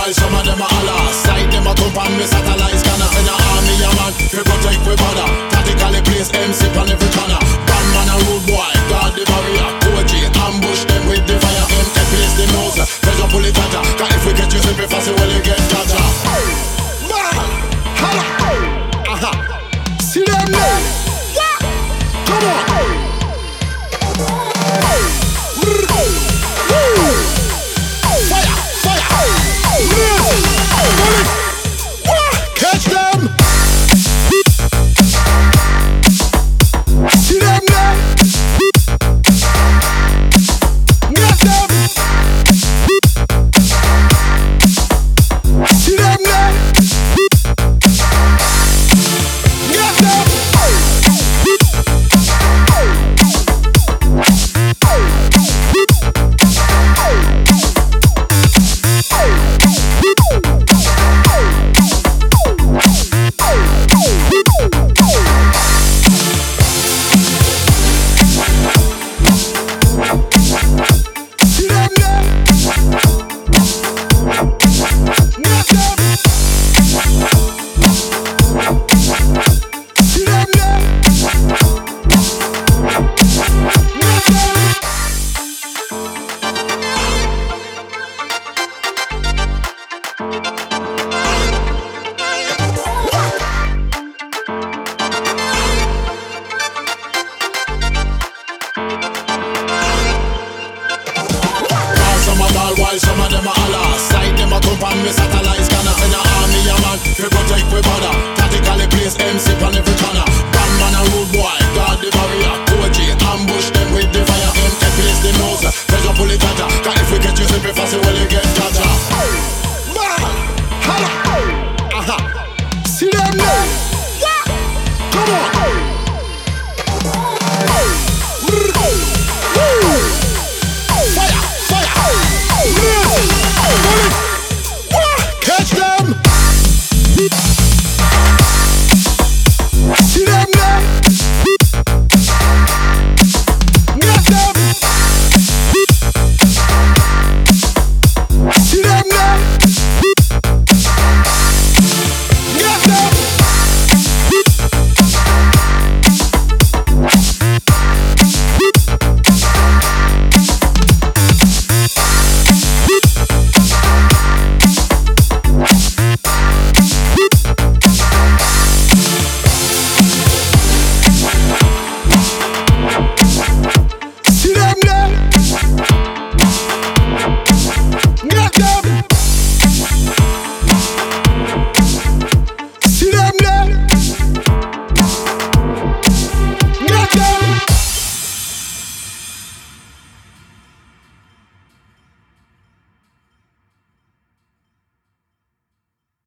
while some of them a holler. Side them a thump and me satellites. Gonna send a army a man to protect we border. Tactically place MC on every corner. Bad man a rude boy, guard the barrier. OG ambush them with the fire. Empty place the nose, pressure pull it tighter. Cause if we get you simple fast, well you get gotcha. Man, holla, aha. See them now? Yeah. Come on. Catch them! See them now? Get them! See them now? Get them! While some of them a holler, side them a thump and me satellites. Gonna send a army a man to protect we border. Tactically place MC on every corner. Bad man a rude boy, guard the barrier. OG ambush them with the fire. Empty place the nose, pressure pull it tighter. Cause if we get you simple fast, well you get